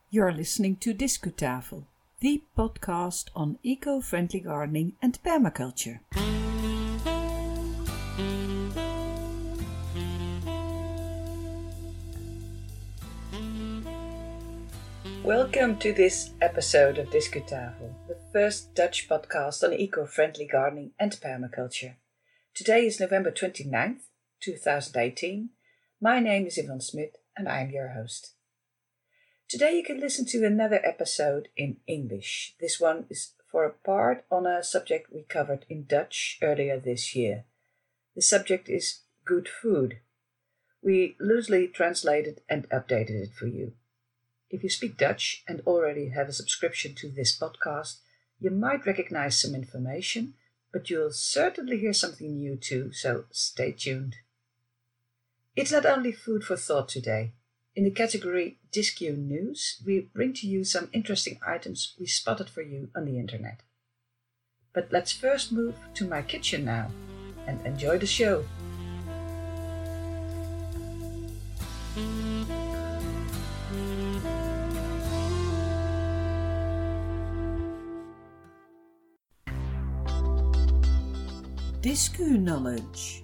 You're listening to Discutafel, the podcast on eco-friendly gardening and permaculture. Welcome to this episode of Discutafel, the first Dutch podcast on eco-friendly gardening and permaculture. Today is November 29th, 2018. My name is Yvonne Smit and I am your host. Today you can listen to another episode in English. This one is for a part on a subject we covered in Dutch earlier this year. The subject is good food. We loosely translated and updated it for you. If you speak Dutch and already have a subscription to this podcast, you might recognize some information, but you'll certainly hear something new too, so stay tuned. It's not only food for thought today. In the category Discu News, we bring to you some interesting items we spotted for you on the internet. But let's first move to my kitchen now and enjoy the show. Discu Knowledge.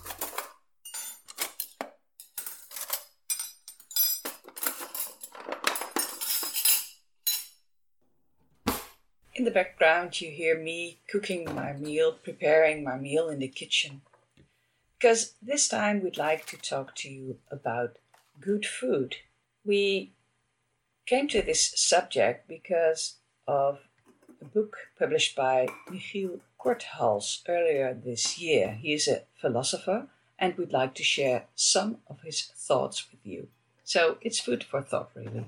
In the background you hear me cooking my meal, preparing my meal in the kitchen. Because this time we'd like to talk to you about good food. We came to this subject because of a book published by Michiel Korthals earlier this year. He is a philosopher and we'd like to share some of his thoughts with you. So it's food for thought, really.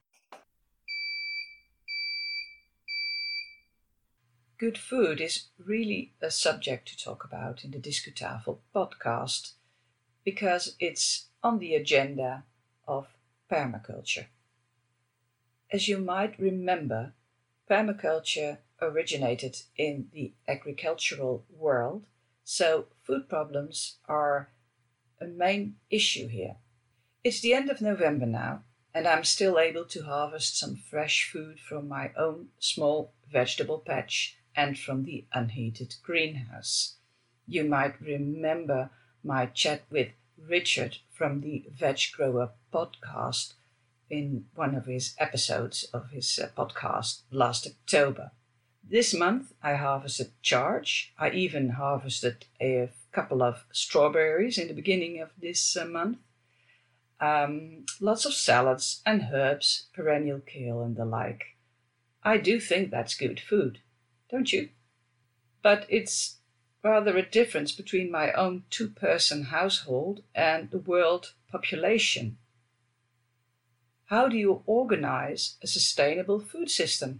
Good food is really a subject to talk about in the Discutafel podcast because it's on the agenda of permaculture. As you might remember, permaculture originated in the agricultural world, so food problems are a main issue here. It's the end of November now, and I'm still able to harvest some fresh food from my own small vegetable patch and from the unheated greenhouse. You might remember my chat with Richard from the Veg Grower podcast in one of his episodes of his podcast last October. This month I harvested charge. I even harvested a couple of strawberries in the beginning of this month. Lots of salads and herbs, perennial kale and the like. I do think that's good food. Don't you? But it's rather a difference between my own two-person household and the world population. How do you organize a sustainable food system?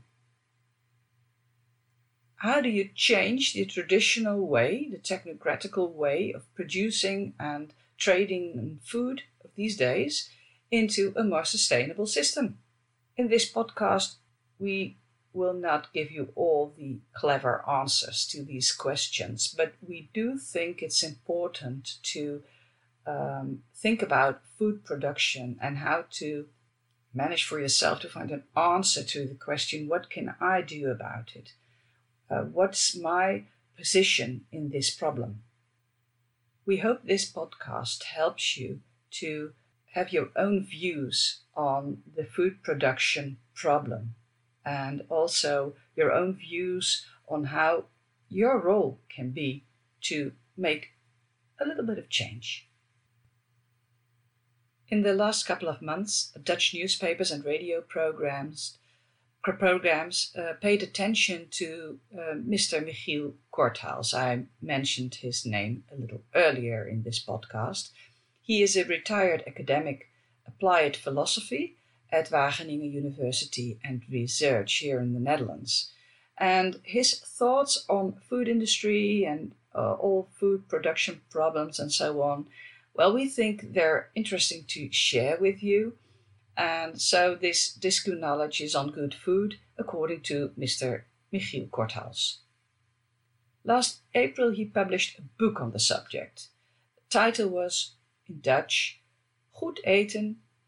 How do you change the traditional way, the technocratical way of producing and trading food of these days into a more sustainable system? In this podcast, we will not give you all the clever answers to these questions, but we do think it's important to think about food production and how to manage for yourself to find an answer to the question, what can I do about it? What's my position in this problem? We hope this podcast helps you to have your own views on the food production problem, and also your own views on how your role can be to make a little bit of change. In the last couple of months, Dutch newspapers and radio programs paid attention to Mr. Michiel Korthals. I mentioned his name a little earlier in this podcast. He is a retired academic applied philosophy at Wageningen University and Research here in the Netherlands. And his thoughts on food industry and all food production problems and so on, well, we think they're interesting to share with you. And so this Discu knowledge is on good food, according to Mr. Michiel Korthals. Last April he published a book on the subject. The title was, in Dutch, Goed eten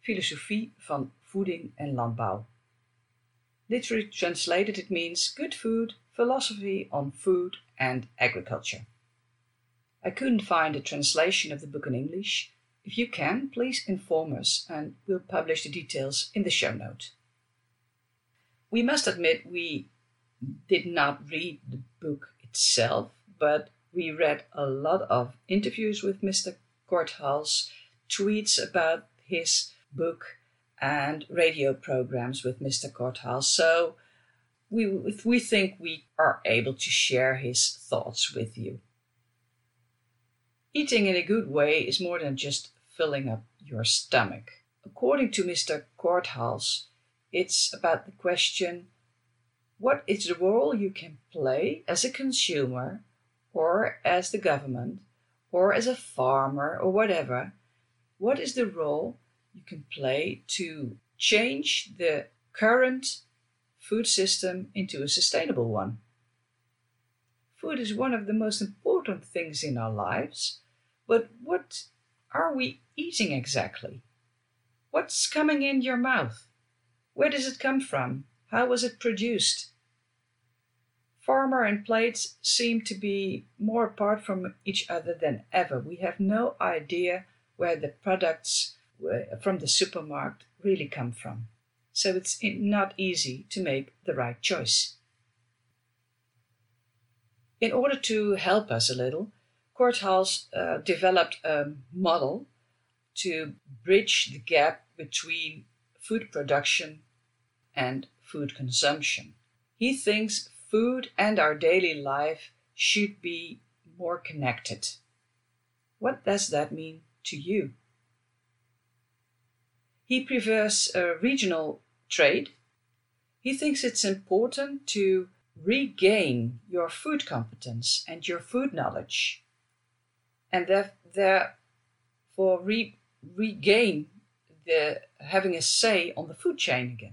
Filosofie van Voeding en Landbouw. Literally translated, it means Good Food, Philosophy on Food and Agriculture. I couldn't find a translation of the book in English. If you can, please inform us and we'll publish the details in the show note. We must admit we did not read the book itself, but we read a lot of interviews with Mr. Korthals, tweets about his book, and radio programs with Mr. Korthals. So we think we are able to share his thoughts with you. Eating in a good way is more than just filling up your stomach. According to Mr. Korthals, it's about the question, what is the role you can play as a consumer or as the government or as a farmer or whatever? What is the role you can play to change the current food system into a sustainable one? Food is one of the most important things in our lives, but what are we eating exactly? What's coming in your mouth? Where does it come from? How was it produced? Farmer and plates seem to be more apart from each other than ever. We have no idea where the products from the supermarket really come from. So it's not easy to make the right choice. In order to help us a little, Korthals developed a model to bridge the gap between food production and food consumption. He thinks food and our daily life should be more connected. What does that mean to you? He prefers regional trade. He thinks it's important to regain your food competence and your food knowledge, and therefore regain having a say on the food chain again.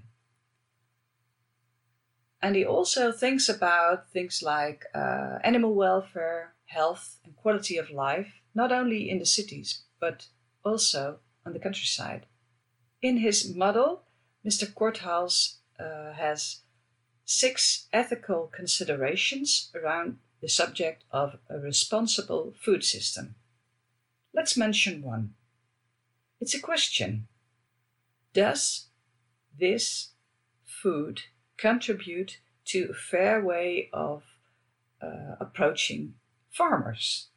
And he also thinks about things like animal welfare, health, and quality of life, not only in the cities, but also on the countryside. In his model, Mr. Korthals has 6 ethical considerations around the subject of a responsible food system. Let's mention one. It's a question. Does this food contribute to a fair way of approaching farmers?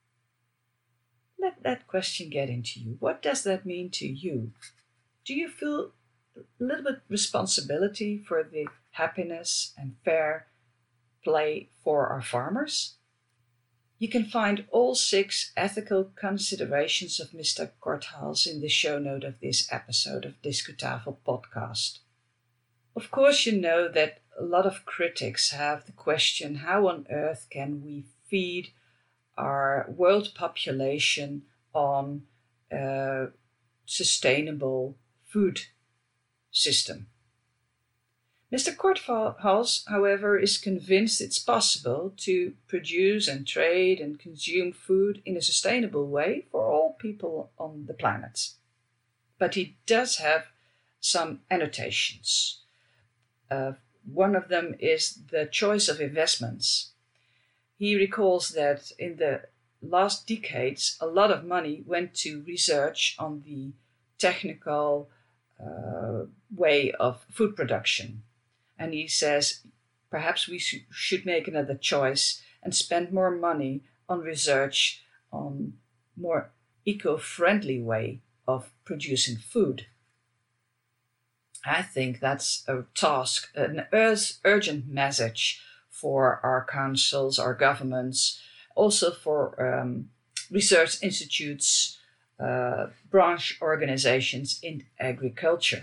Let that question get into you. What does that mean to you? Do you feel a little bit responsibility for the happiness and fair play for our farmers? You can find all 6 ethical considerations of Mr. Korthals in the show note of this episode of Discutafel podcast. Of course, you know that a lot of critics have the question, how on earth can we feed our world population on a sustainable food system? Mr. Korthals, however, is convinced it's possible to produce and trade and consume food in a sustainable way for all people on the planet. But he does have some annotations. One of them is the choice of investments. He recalls that in the last decades, a lot of money went to research on the technical way of food production. And he says, perhaps we should make another choice and spend more money on research on more eco-friendly way of producing food. I think that's a task, an urgent message for our councils, our governments, also for research institutes, branch organizations in agriculture.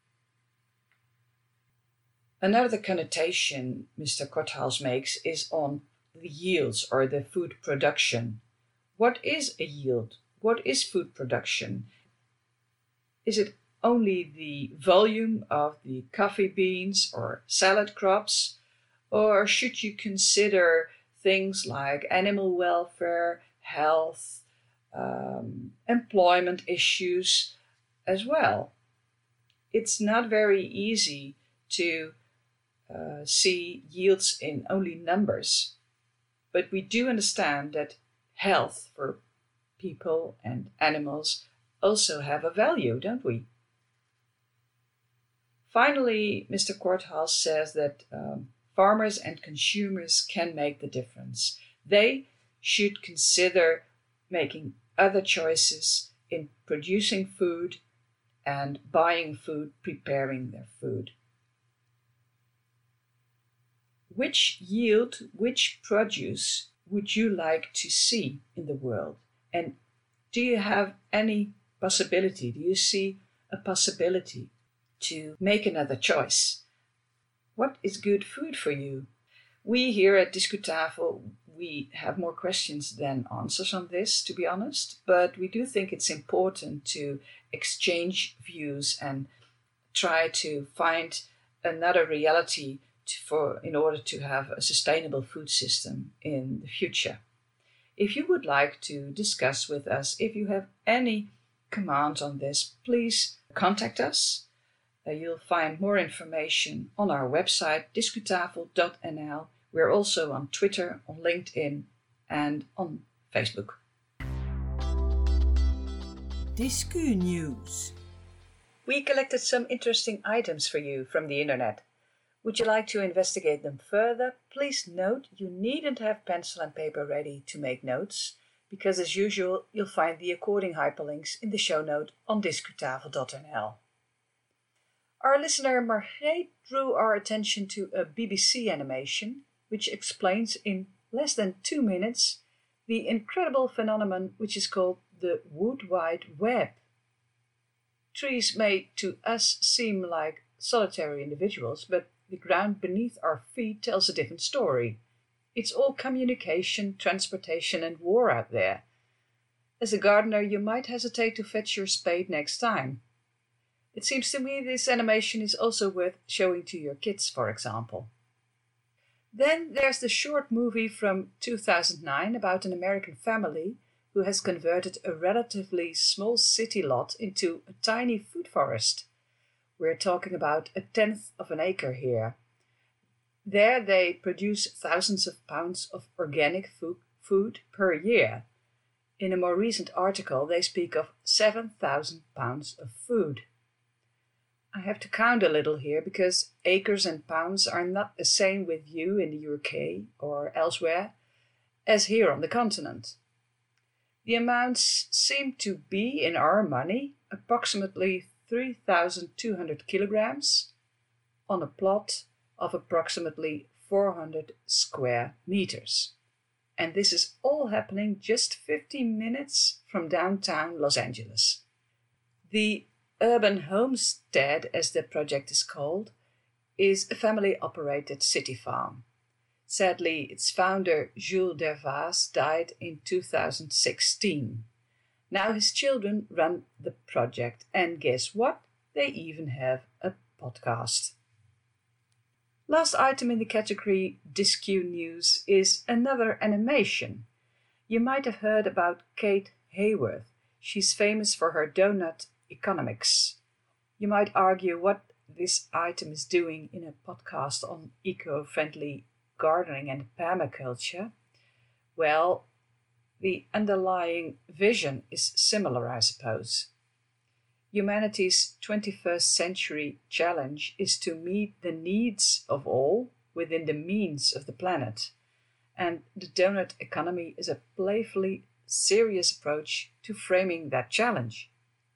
Another connotation Mr. Korthals makes is on the yields or the food production. What is a yield? What is food production? Is it only the volume of the coffee beans or salad crops? Or should you consider things like animal welfare, health, employment issues as well? it's not very easy to see yields in only numbers. But we do understand that health for people and animals also have a value, don't we? Finally, Mr. Korthaus says that farmers and consumers can make the difference. They should consider making other choices in producing food and buying food, preparing their food. Which yield, which produce would you like to see in the world? And do you have any possibility? Do you see a possibility to make another choice? What is good food for you? We here at Discutafel, we have more questions than answers on this, to be honest, but we do think it's important to exchange views and try to find another reality in order to have a sustainable food system in the future. If you would like to discuss with us, if you have any comments on this, please contact us. You'll find more information on our website, discutafel.nl. We're also on Twitter, on LinkedIn, and on Facebook. Discu News. We collected some interesting items for you from the internet. Would you like to investigate them further? Please note you needn't have pencil and paper ready to make notes, because as usual you'll find the according hyperlinks in the show note on discutafel.nl. Our listener Margreet drew our attention to a BBC animation which explains in less than 2 minutes the incredible phenomenon which is called the Wood Wide Web. Trees may to us seem like solitary individuals, but the ground beneath our feet tells a different story. It's all communication, transportation, and war out there. As a gardener, you might hesitate to fetch your spade next time. It seems to me this animation is also worth showing to your kids, for example. Then there's the short movie from 2009 about an American family who has converted a relatively small city lot into a tiny food forest. We're talking about 1/10 of an acre here. There they produce thousands of pounds of organic food per year. In a more recent article, they speak of 7,000 pounds of food. I have to count a little here because acres and pounds are not the same with you in the UK or elsewhere as here on the continent. The amounts seem to be, in our money, approximately 3,200 kilograms on a plot of approximately 400 square meters. And this is all happening just 15 minutes from downtown Los Angeles. The Urban Homestead, as the project is called, is a family-operated city farm. Sadly, its founder, Jules Dervaas, died in 2016. Now his children run the project, and guess what? They even have a podcast. Last item in the category Discu News is another animation. You might have heard about Kate Hayworth. She's famous for her donut economics. You might argue what this item is doing in a podcast on eco-friendly gardening and permaculture. Well, the underlying vision is similar, I suppose. Humanity's 21st century challenge is to meet the needs of all within the means of the planet. And the donut economy is a playfully serious approach to framing that challenge.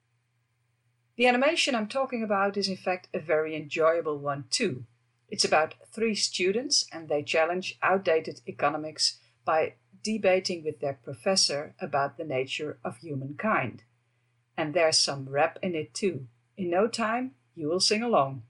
The animation I'm talking about is in fact a very enjoyable one too. It's about 3 students and they challenge outdated economics by debating with their professor about the nature of humankind. And there's some rap in it too. In no time, you will sing along.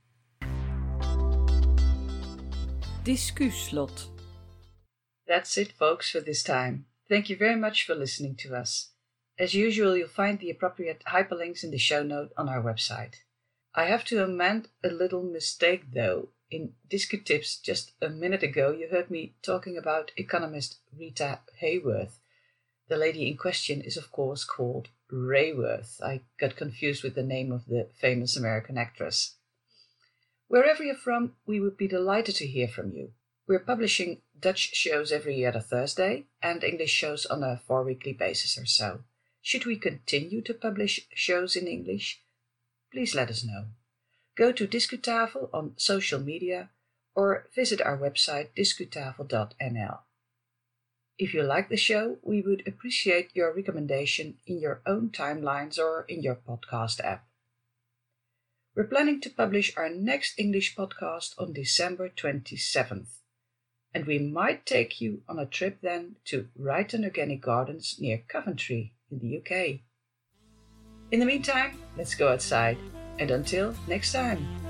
Discuslot. That's it, folks, for this time. Thank you very much for listening to us. As usual, you'll find the appropriate hyperlinks in the show note on our website. I have to amend a little mistake though. In Discu Tips just a minute ago, you heard me talking about economist Rita Hayworth. The lady in question is of course called Rayworth. I got confused with the name of the famous American actress. Wherever you're from, we would be delighted to hear from you. We're publishing Dutch shows every other Thursday and English shows on a 4-weekly basis or so. Should we continue to publish shows in English? Please let us know. Go to Discutafel on social media or visit our website discutafel.nl. If you like the show, we would appreciate your recommendation in your own timelines or in your podcast app. We're planning to publish our next English podcast on December 27th, and we might take you on a trip then to Ryton Organic Gardens near Coventry in the UK. In the meantime, let's go outside, and until next time.